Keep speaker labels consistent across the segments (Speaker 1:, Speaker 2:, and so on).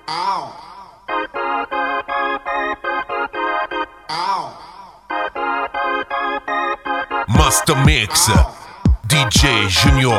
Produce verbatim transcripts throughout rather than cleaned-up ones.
Speaker 1: Master Mix D J Junior.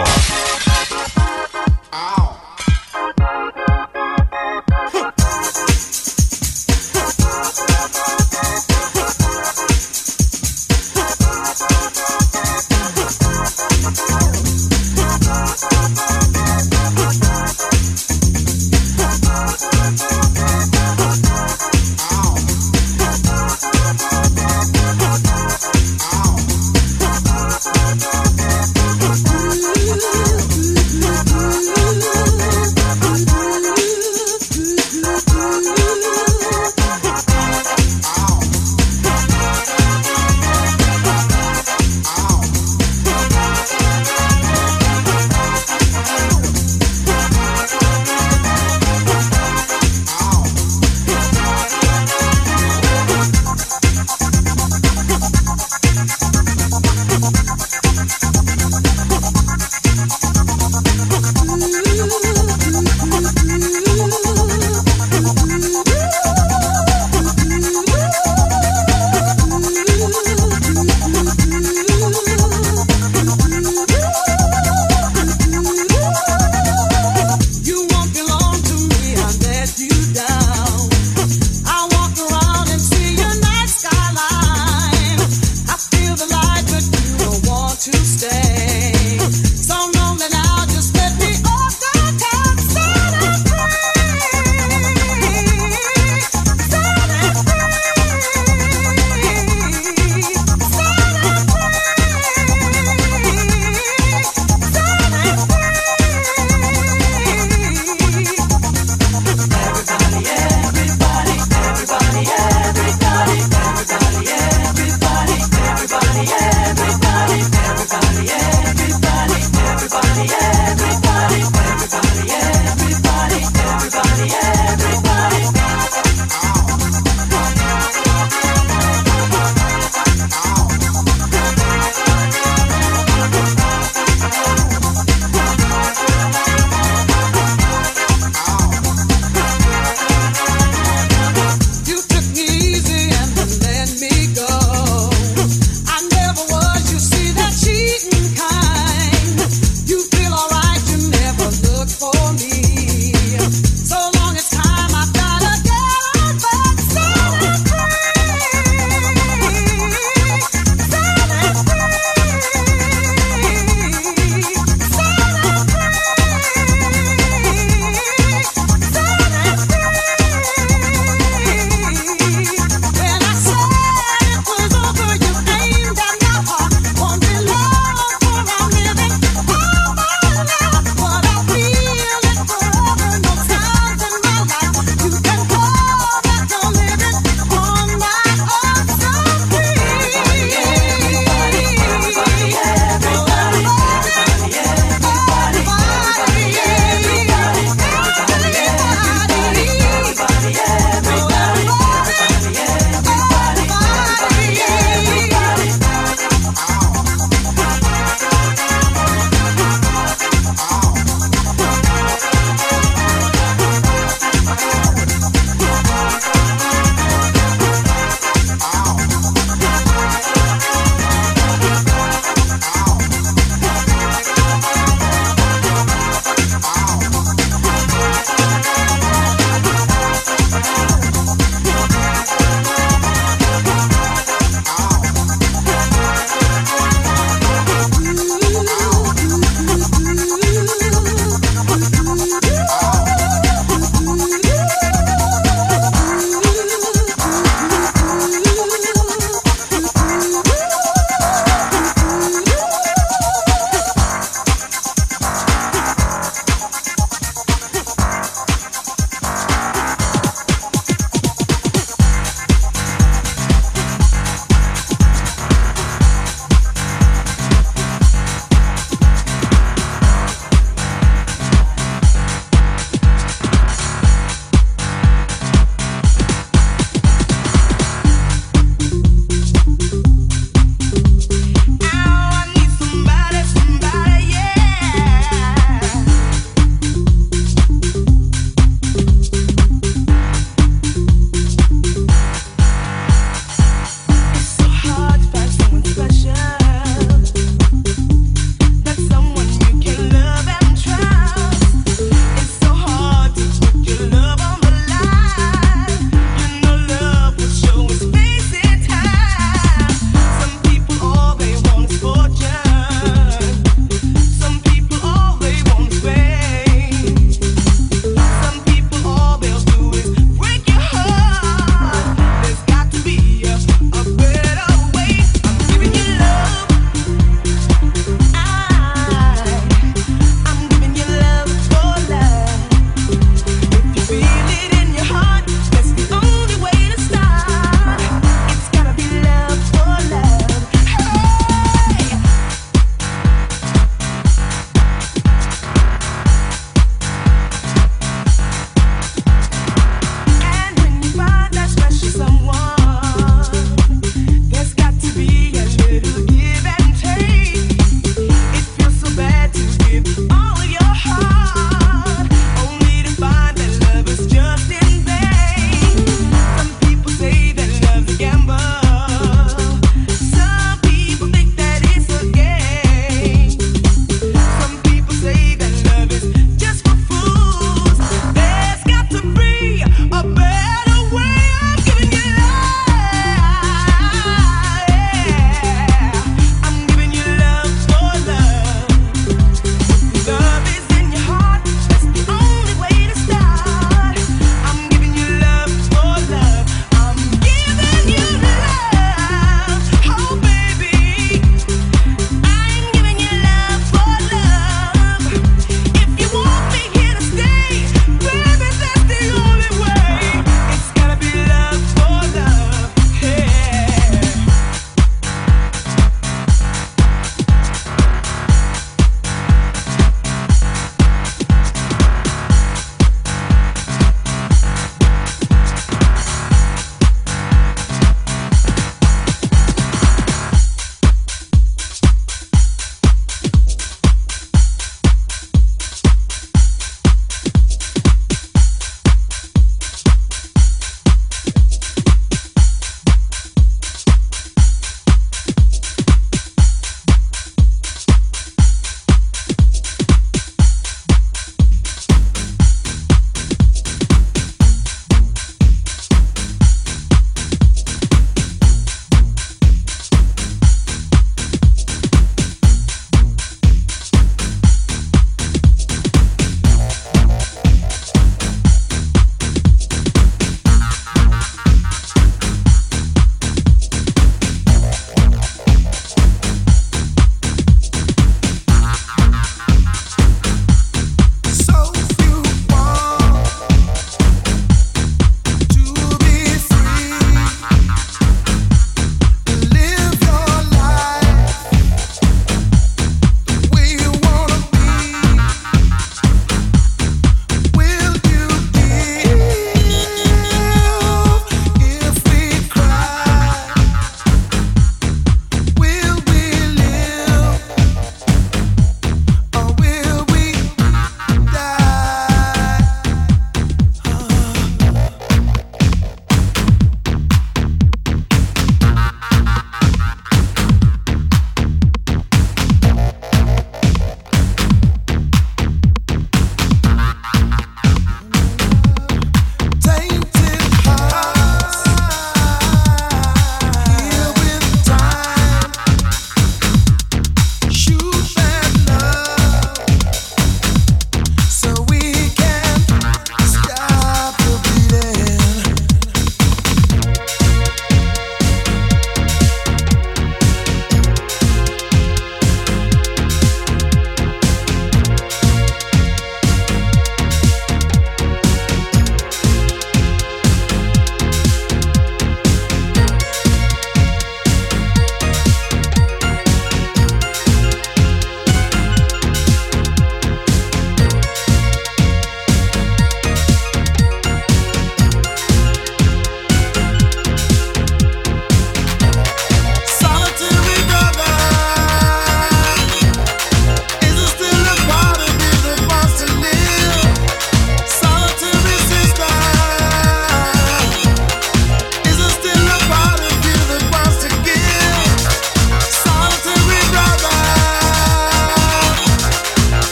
Speaker 2: Ooh.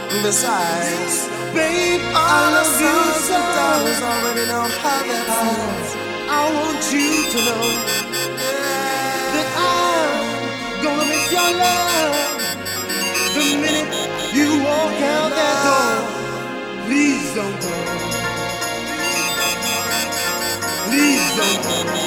Speaker 2: Besides, babe, I love you so. Dollars already know how that feels. I want you to know that I'm gonna miss your love the minute you walk out that door. Please don't go. Please don't go.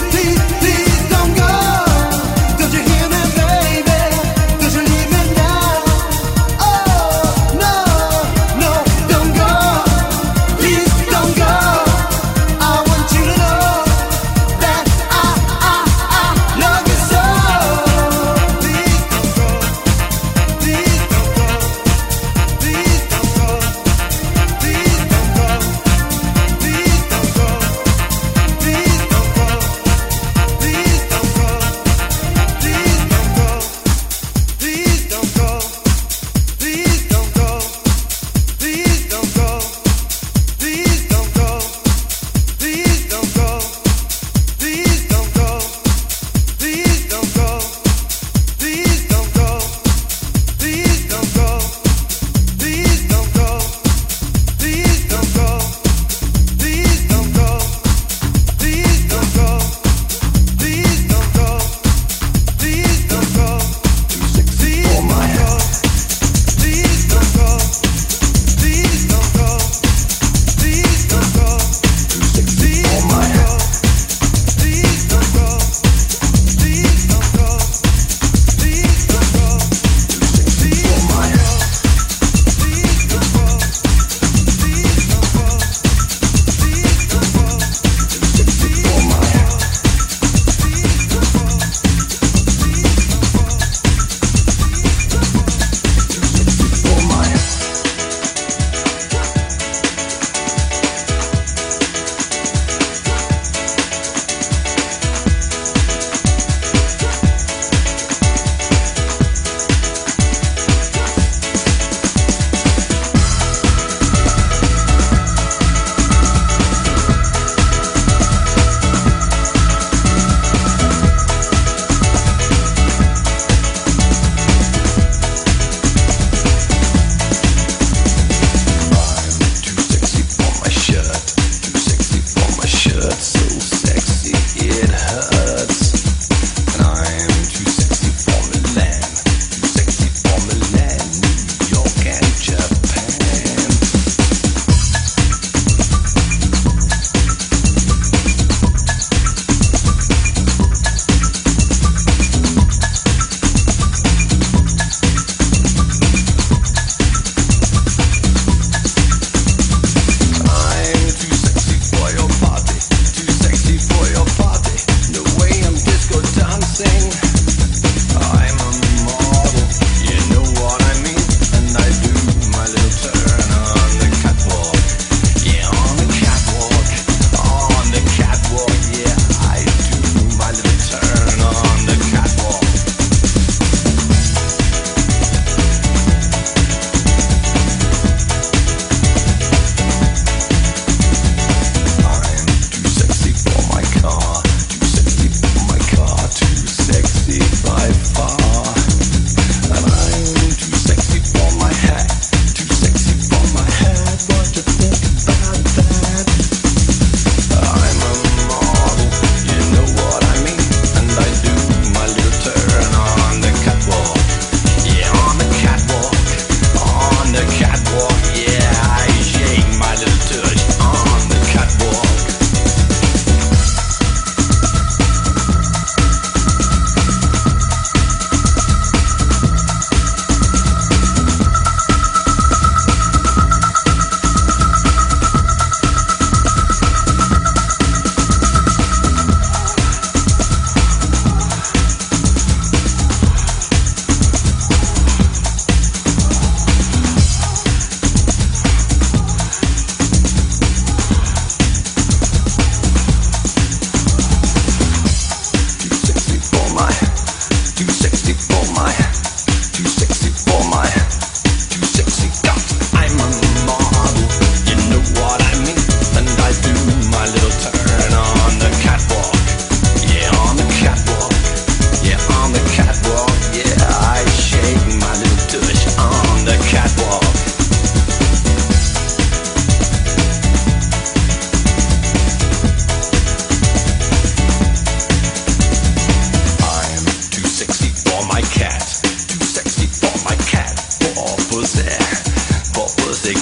Speaker 2: Down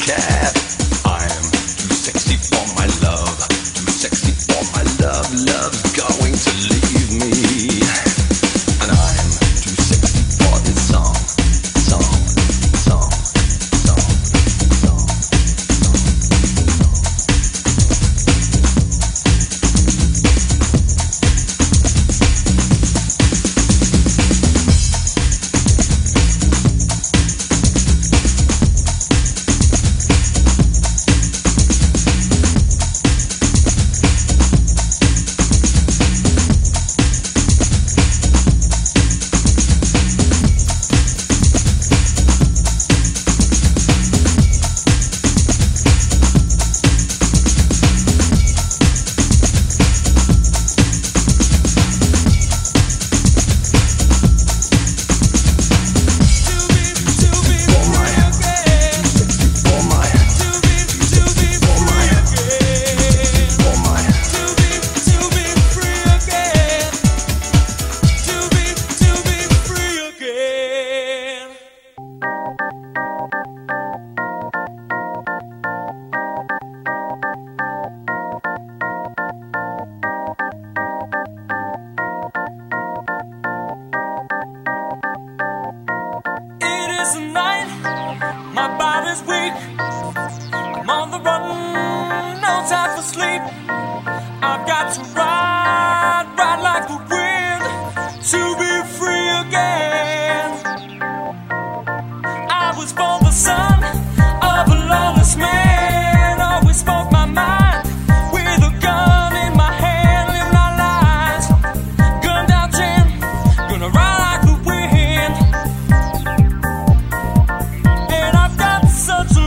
Speaker 3: Such a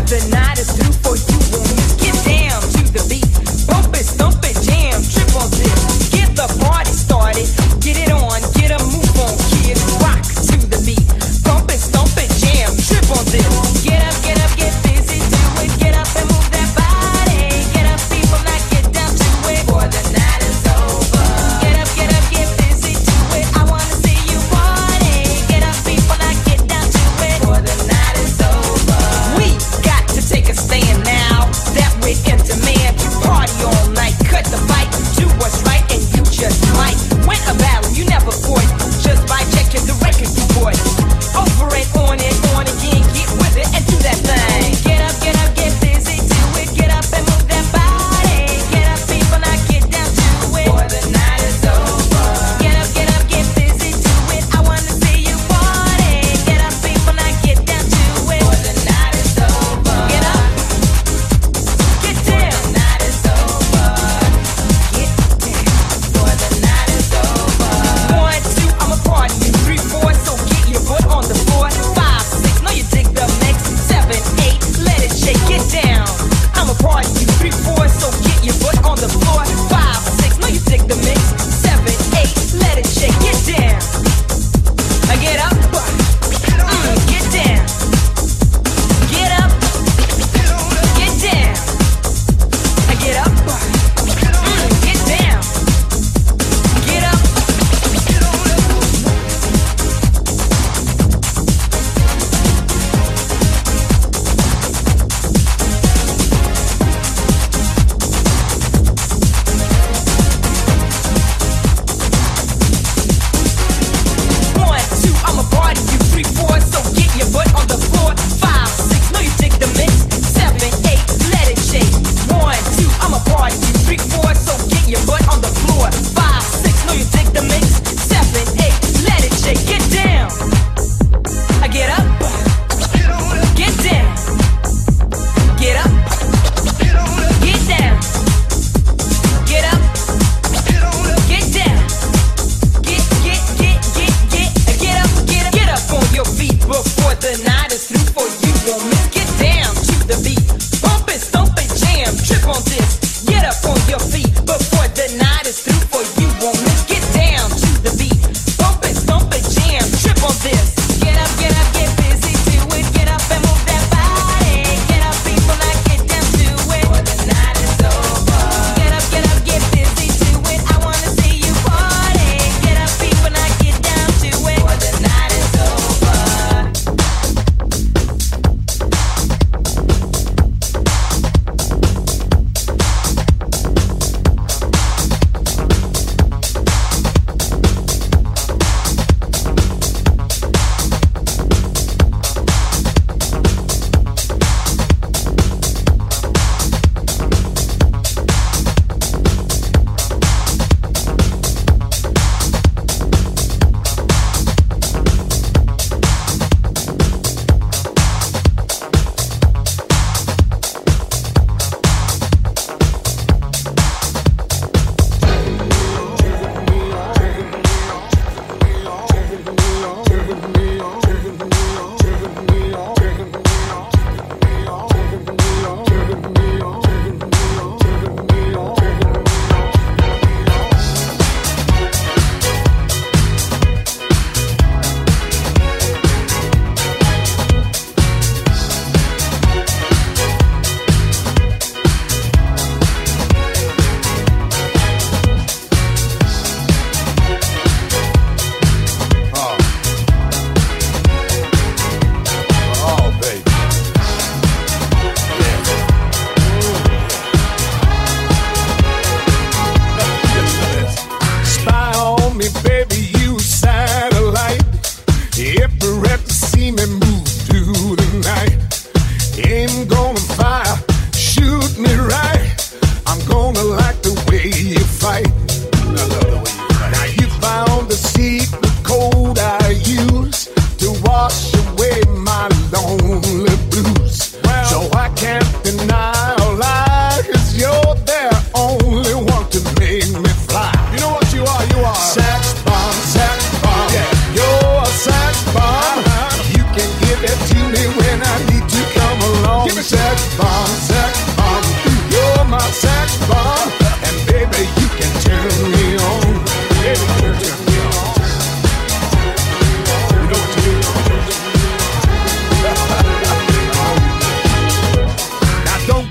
Speaker 3: Give it to me when I need to come along. Give it to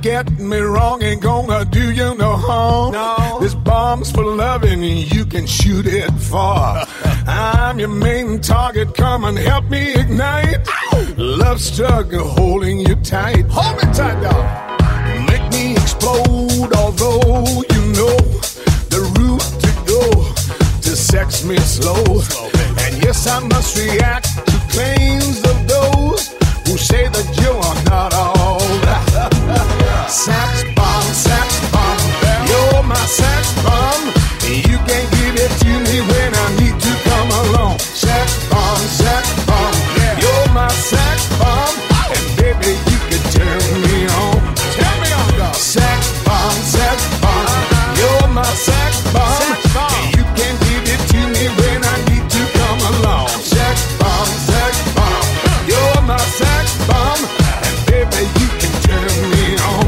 Speaker 3: get me wrong, ain't gonna do you no harm. No. This bomb's for loving, you can shoot it far. I'm your main target, come and help me ignite. Love struggle holding you tight. Hold me tight, dog. Make me explode, although you know the route to go to sex me slow. And yes, I must react to claims of those who say that you are not all that. Sax bomb, sax bomb, you're my sax bomb. You can't give it to me when I need to come along. Sax bomb, sax bomb, you're my sax bomb. And baby, you can turn me on. Turn me on, dog. Sax bomb, sax bomb, you're my sax bomb. You can't give it to me when I need to come along. Sax bomb, sax bomb, you're my sax bomb. And baby, you can turn me on.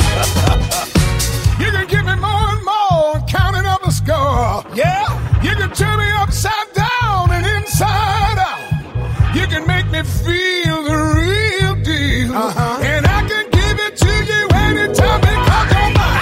Speaker 3: You can give me more and more, counting up the score. Yeah, you can turn me upside down and inside out. You can make me feel the real deal. Uh-huh. And I can give it to you anytime because you're mine.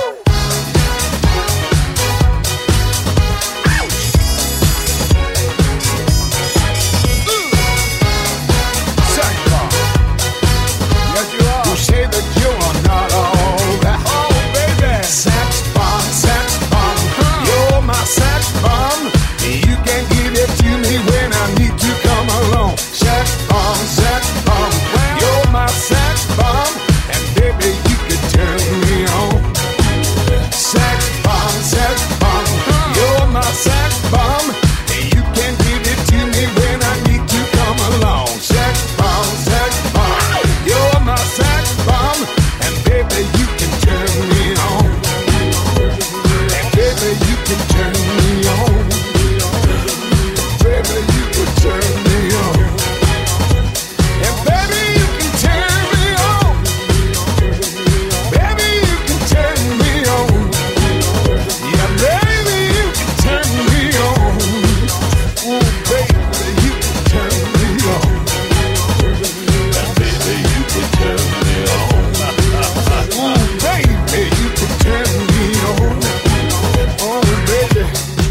Speaker 3: Yes, you are. Who say that you are not all that? Oh, baby. Sax bomb, sax bomb, you're my sax bomb. You can give it to me when I need to come along. Sax bomb, sax bomb, you're my sax bomb. And baby, you can turn me on. Sax bomb, sax bomb, you're my sax bomb. You can give it to me when I need to come along. Sax bomb, sax bomb, you're my sax bomb. And baby, you can turn me on. And baby, you can turn me on. Baby, you can turn me on. And baby, you can turn me on. Baby, you can turn me on. Yeah, baby, you can turn me on. Ooh, baby, you can turn me on. And baby, you can turn me on. Ooh, baby, you can turn me on. Oh, baby.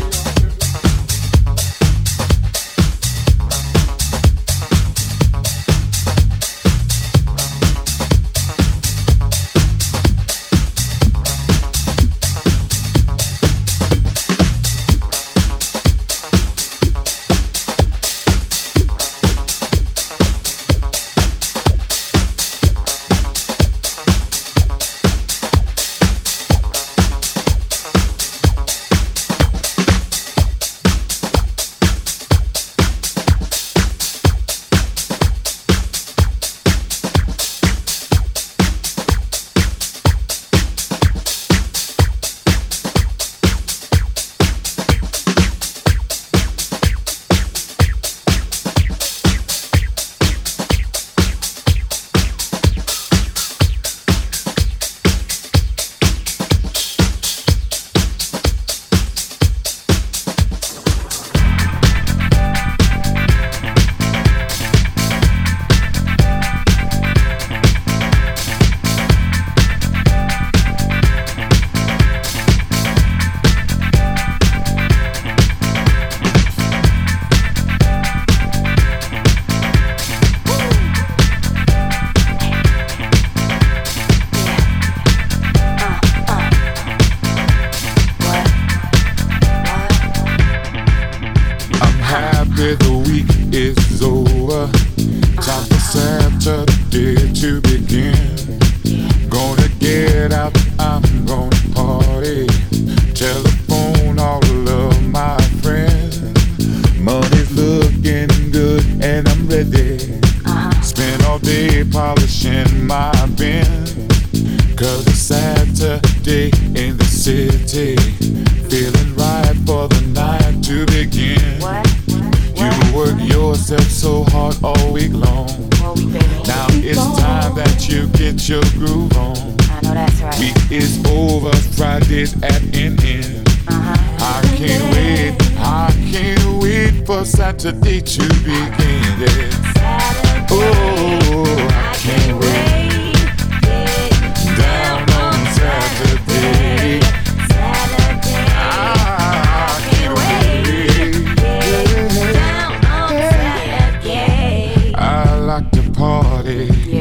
Speaker 4: Saturday to begin, yeah. Oh, I can't wait.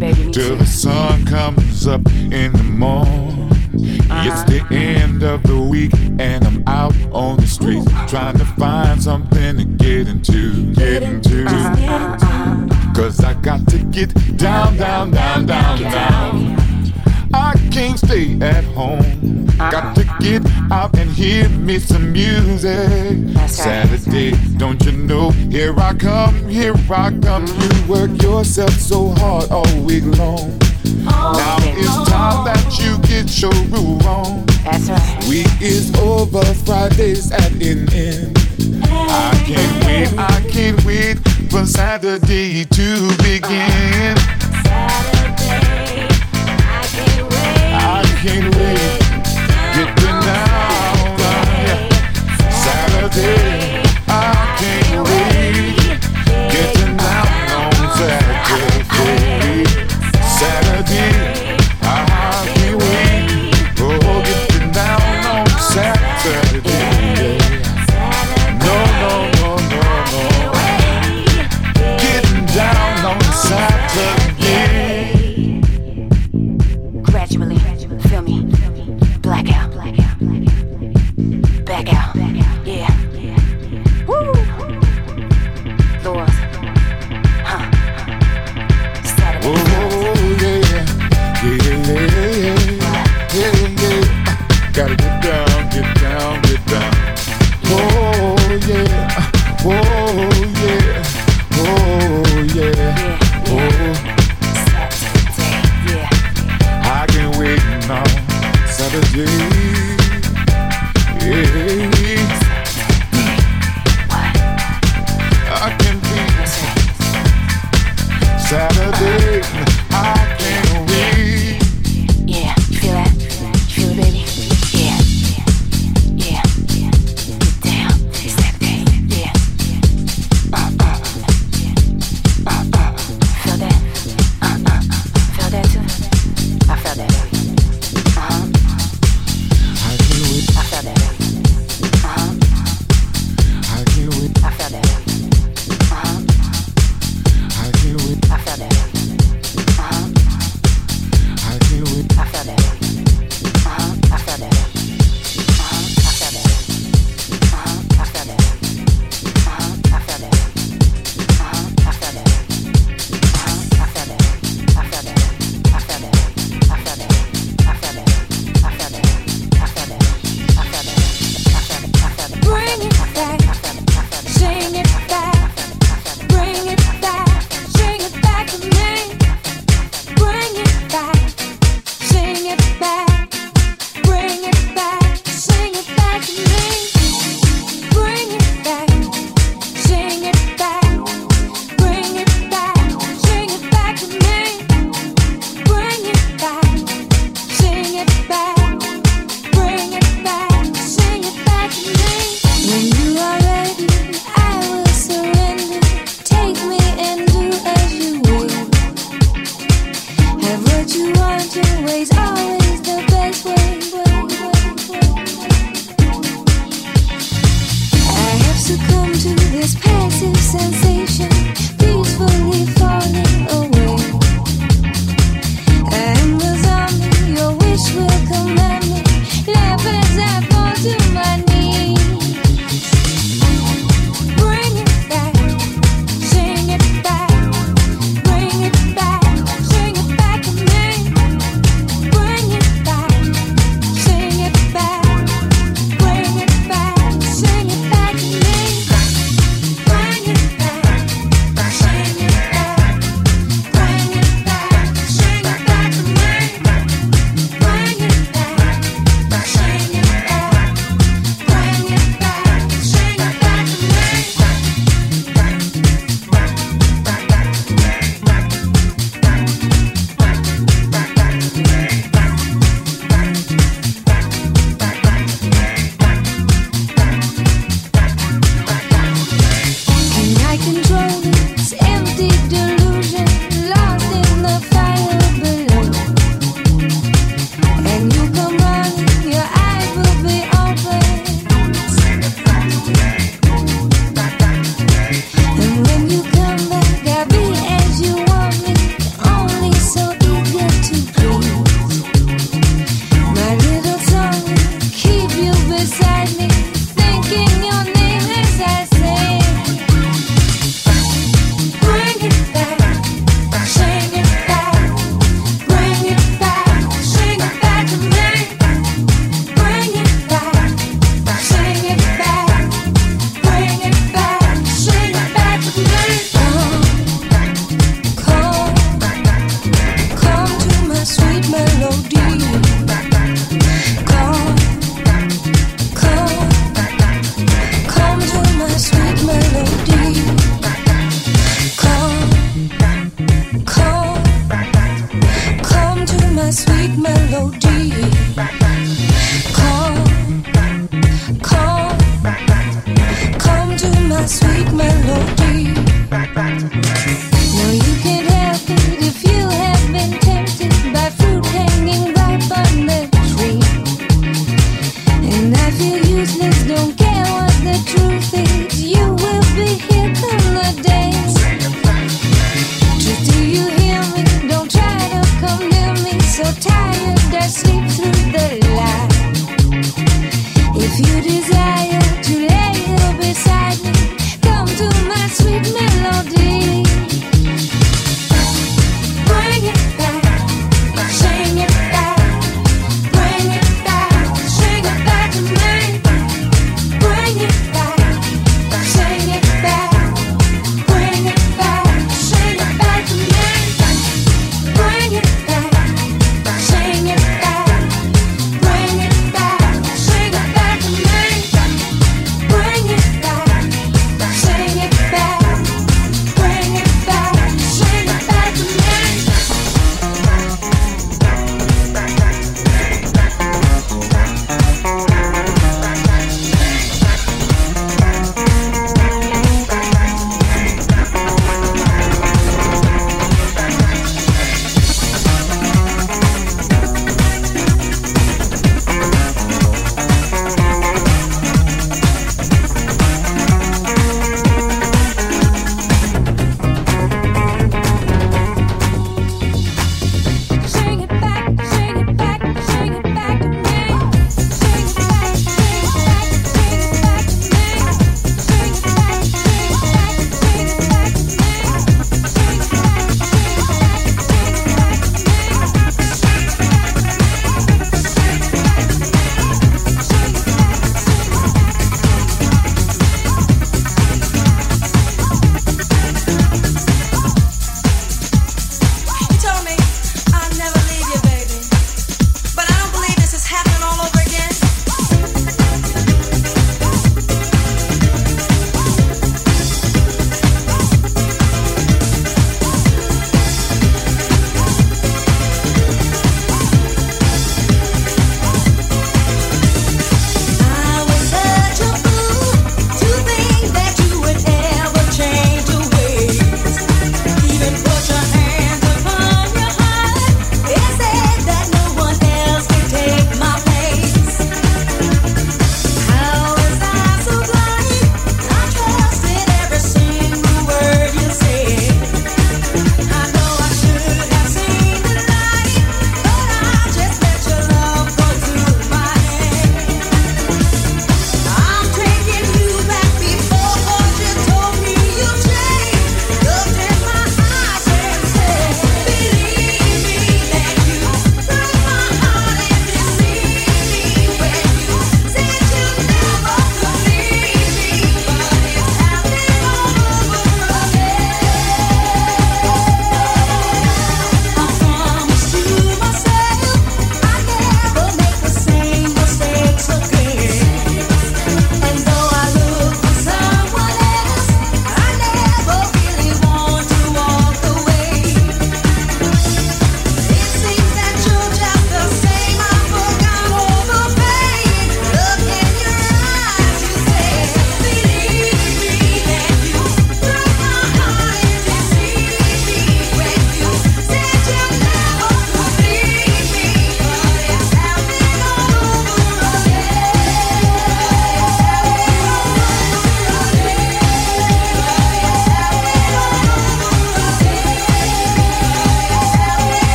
Speaker 2: baby,
Speaker 4: till the sun comes up in the morning. Uh-huh. It's the end of the week and I'm out on the street trying to find something to get into, get into.
Speaker 2: Uh-huh. Uh-huh.
Speaker 4: Cause I got to get down, down, down, down, down. I can't stay at home. Uh-huh. Got to get out and hear me some music.
Speaker 2: That's right.
Speaker 4: Saturday, don't you know? Here I come, here I come. You work yourself so hard all week long.
Speaker 2: Oh,
Speaker 4: now
Speaker 2: okay.
Speaker 4: it's time that you get your groove on.
Speaker 2: That's right.
Speaker 4: Week is over, Friday's at an end. I can't wait, I can't wait for Saturday to begin.
Speaker 2: Saturday, I can't wait.
Speaker 4: I can't wait. Getting down, down. Saturday, I can't wait. Getting down on Saturday. Saturday, I can't wait. Oh, getting down on Saturday. No, no, no, no, no. Getting down on Saturday.
Speaker 2: Gradually, feel me, black out, back out, yeah, woo, Lord, huh, Saturday.
Speaker 4: Oh, yeah, yeah, yeah, yeah, yeah. Gotta get down, get down, get down. Oh, yeah, oh, yeah, oh, yeah, oh.
Speaker 2: Saturday, yeah.
Speaker 4: I can't wait now, Saturday. Yeah. I can be Saturday. I can't wait.
Speaker 2: Yeah, you feel that? You feel it, baby? Yeah, yeah, yeah. Get down, Saturday, yeah. Uh uh, uh uh. Feel that? Uh uh. Feel that too? I felt that, baby. Uh huh.
Speaker 4: I can't wait.
Speaker 2: I felt that, baby. Uh huh.
Speaker 4: I can't wait.
Speaker 2: I felt that, baby. Uh huh.
Speaker 4: I can't wait.
Speaker 2: I felt that, baby. Uh huh.
Speaker 4: I can't wait.
Speaker 2: I felt that, baby. Uh huh. I felt that, baby. Uh huh. I felt that, baby. Uh huh. I felt that, baby. Uh huh. I felt that, baby. Uh huh. I felt that, baby. Uh huh. I felt that, baby. I felt that, baby. I felt that, baby. I felt that, baby. I felt that, baby. I felt that, baby. I felt that, baby. I felt that, baby. I felt it. I felt it. Bring it back. Sing it back. Bring it back. Sing it back to me. Bring it back. Sing it back. Bring it back. Sing it back to me. Bring it back. Sing it back. Bring it back. Sing it back to me. Bring it back. Sing it back. Bring it back. Sing it back to me. When you are ready, I will surrender. Take me and do as you will. Have what you want, your way's always the best way. I have succumbed to this passive sensation, peacefully falling away. I am the zombie, your wish will command me. Laugh as I fall to my knees. Bring it back, sing it back. Bring it back, sing it back to me. Bring it back, sing it back. Bring it back, sing it back to me. Bring it back, sing it back.
Speaker 5: sweet melody. Come, come, come to my sweet melody. Now you can't help it if you have been tempted by fruit hanging ripe on the tree. And I feel useless, don't care what the truth is. You will be here come the day. Just do you hear me? Don't try to come near me. So tired I sleep through the light. If you desire to lay here beside me, come to my sweet melody. Bring it back, sing it back, bring it back, sing it back to me. Bring it back, sing it back, bring it back, sing it back to me. Bring it back, sing it back, bring it back, sing it back to me. Bring it back, sing it back, bring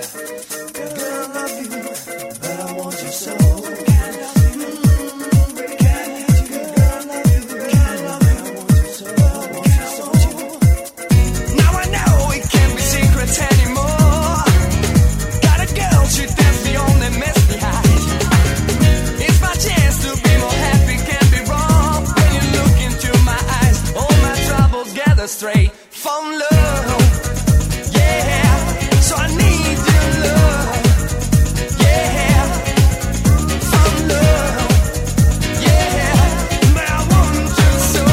Speaker 2: Straight from love, yeah. So I need your love, yeah. From love, yeah. But I want you so,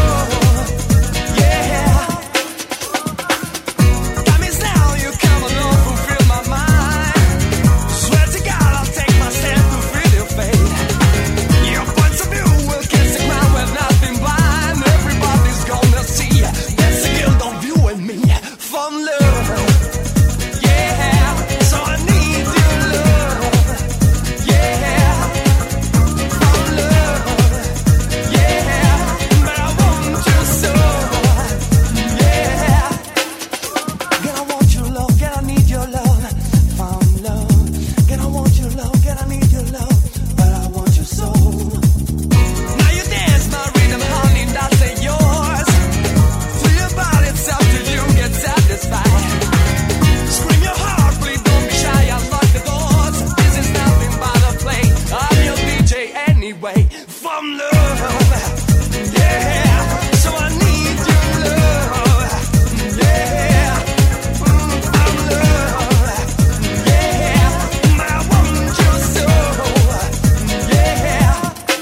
Speaker 2: yeah. That means now you come along, fulfill my mind. Swear to God, I'll take my stand to feel your fate. Your points of view will kiss the ground with nothing blind. Everybody's gonna see. Don't you and me from love, yeah. So I need your love, yeah. From love, yeah. But I want you so, yeah. Girl, I want your love, girl, I need your love. From love, girl, I want your love, girl, I need your love. But I want you so. Now you dance my rhythm, honey, that's it yours. It's up to you, get satisfied. Scream your heart, please don't be shy. Unlock the doors. This is nothing but a play. I'm your D J anyway. From love, yeah. So I need your love, yeah. Mm, from love, yeah. But I want you so, yeah.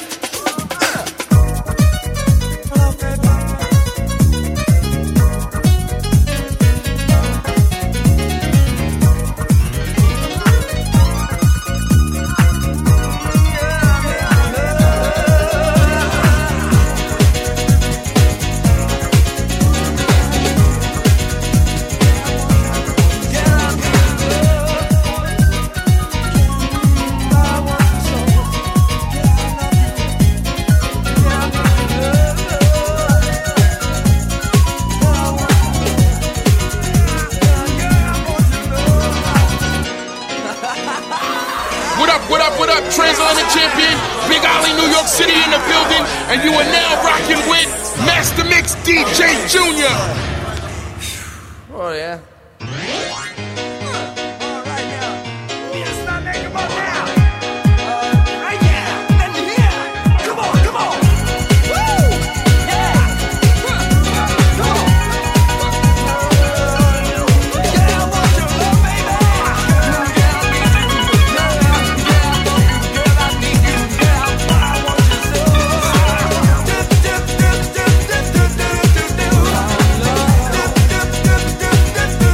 Speaker 2: Love, baby.
Speaker 6: Transatlantic champion, Big Ollie, New York City in the building, and you are now rocking with Master Mix D J Junior.
Speaker 7: Oh yeah.
Speaker 2: Do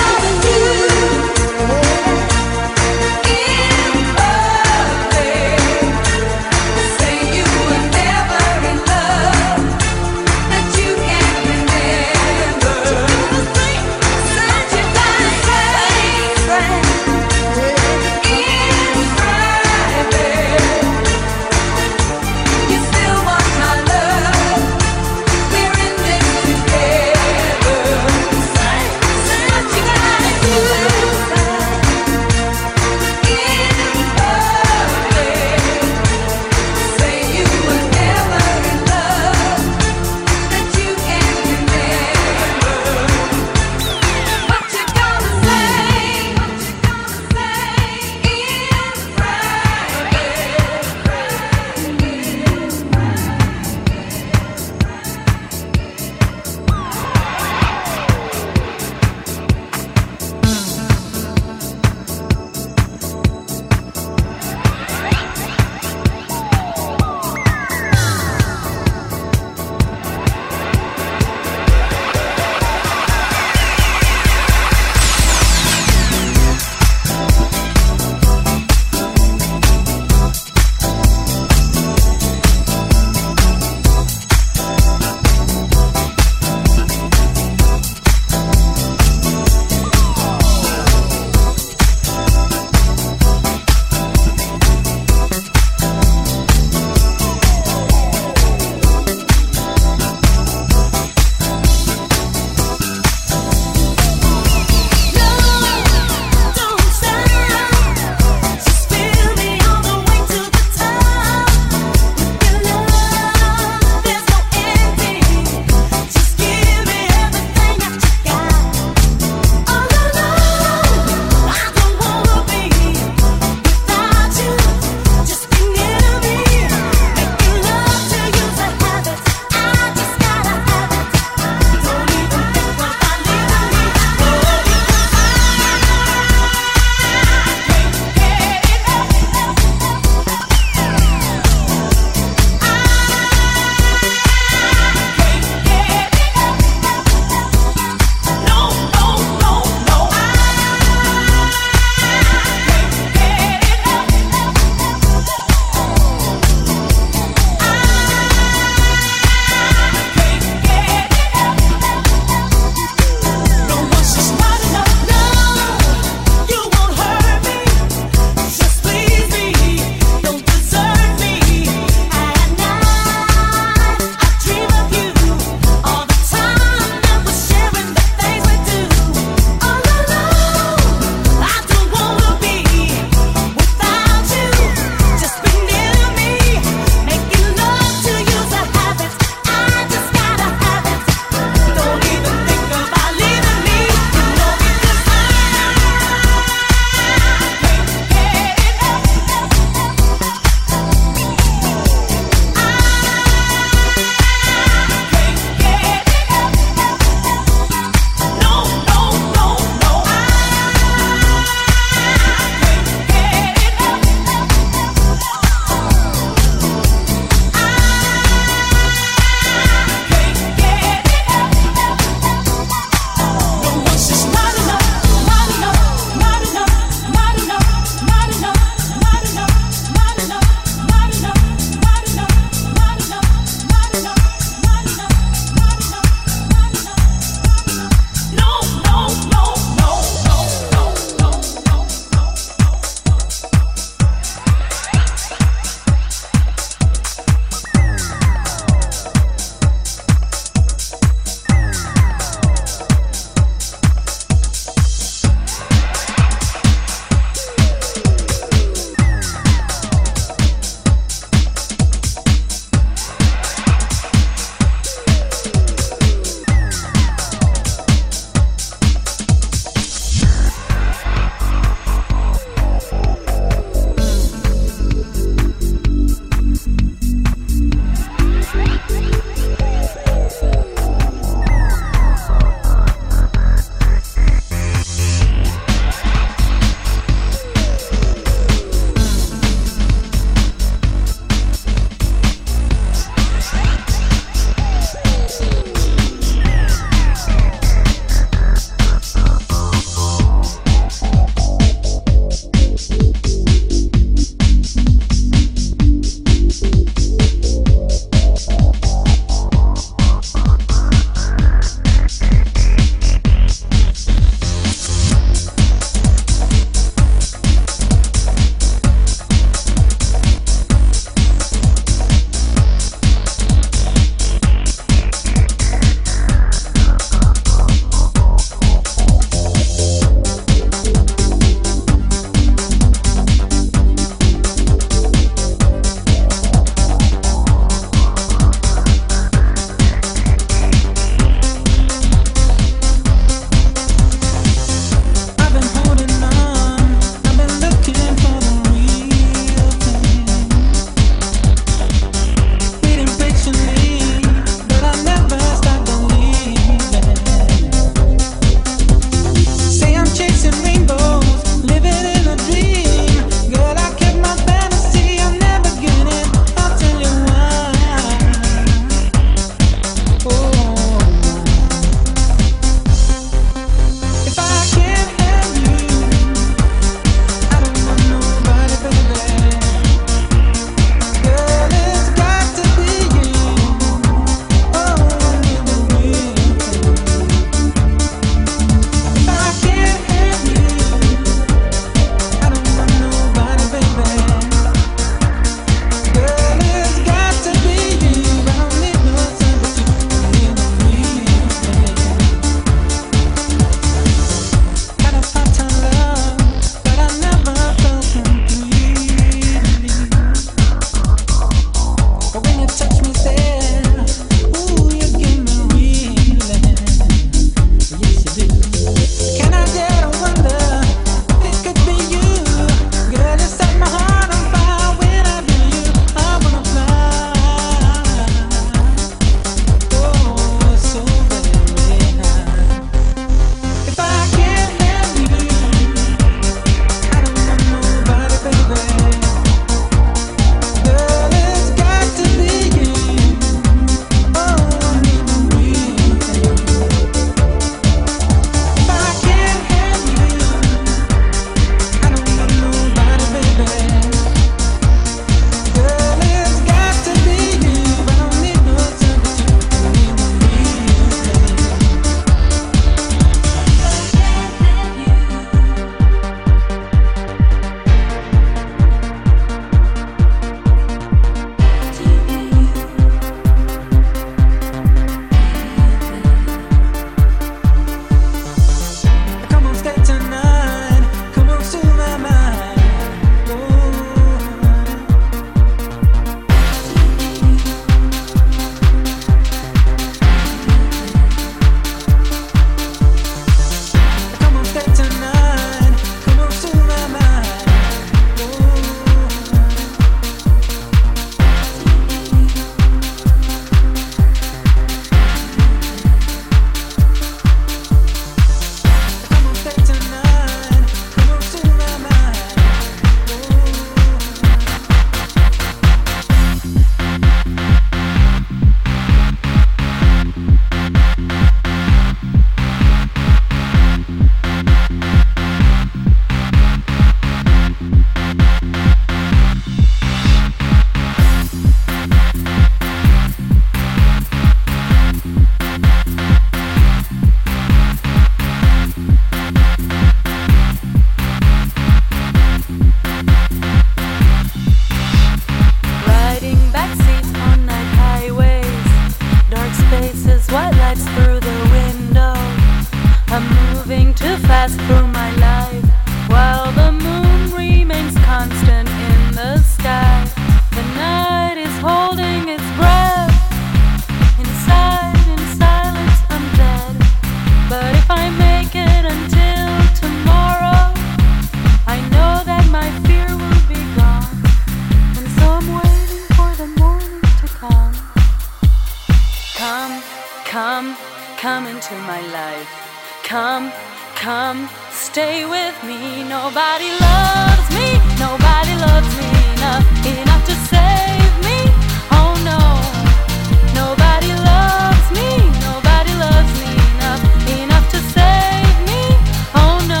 Speaker 5: moving too fast through my life, while the moon remains constant in the sky. The night is holding its breath. Inside, in silence, I'm dead. But if I make it until tomorrow, I know that my fear will be gone. And so I'm waiting for the morning to come. Come, come, come into my life. Come, come, stay with me. Nobody loves me, nobody loves me enough, enough to save me. Oh no, nobody loves me, nobody loves me enough, enough to save me. Oh no.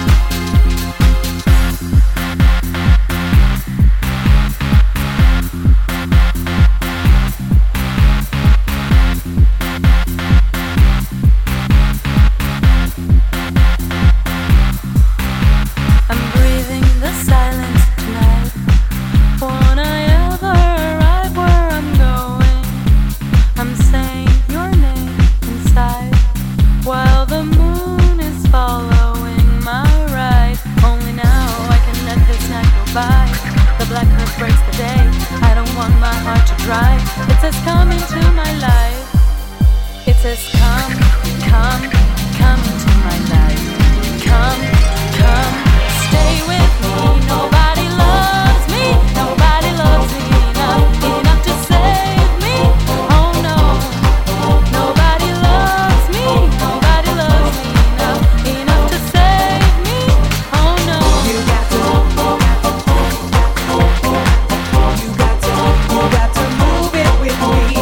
Speaker 5: I'm breathing the silence tonight. Won't I ever arrive where I'm going? I'm saying your name inside, while the moon is following my ride. Only now I can let this night go by. The black earth breaks the day. I don't want my heart to dry. It says come into my life. It says come, come, come into my life. Come, come, stay with me. Nobody loves me, nobody loves me enough, enough to save me. Oh no, nobody loves me, nobody loves me enough, enough to save me. Oh no.
Speaker 2: You got to, you got to, you got to move it with me.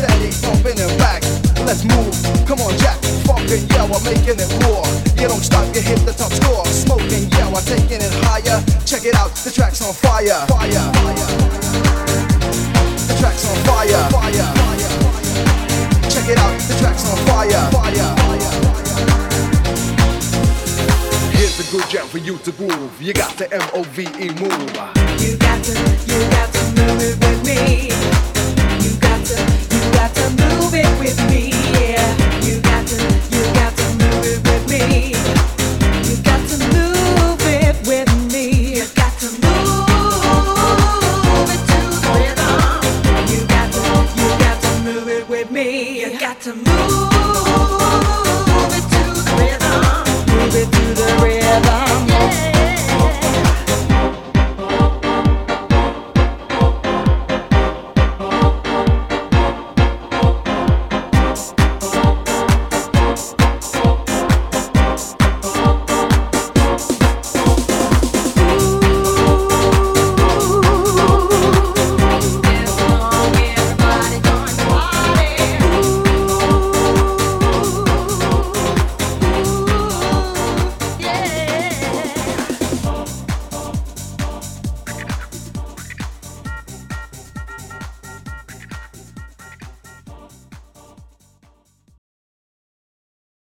Speaker 8: steady, bumping it back. Let's move, come on Jack, fucking yeah, we're making it raw. You don't stop, you hit the top score. Smoking, yeah, we're taking it higher. Check it out, the track's on fire. Fire, fire. The track's on fire. Fire, fire. Check it out, the track's on fire. Fire, fire. Here's a good jam for you to groove. You got the M O V E move.
Speaker 5: You got to, you got to move it with me. You got to, you got to move it with me. Yeah. You got to, you got to move it with me. You got to move it with me. You got to move it to the rhythm. You got to, you got to move it with me. You got to move.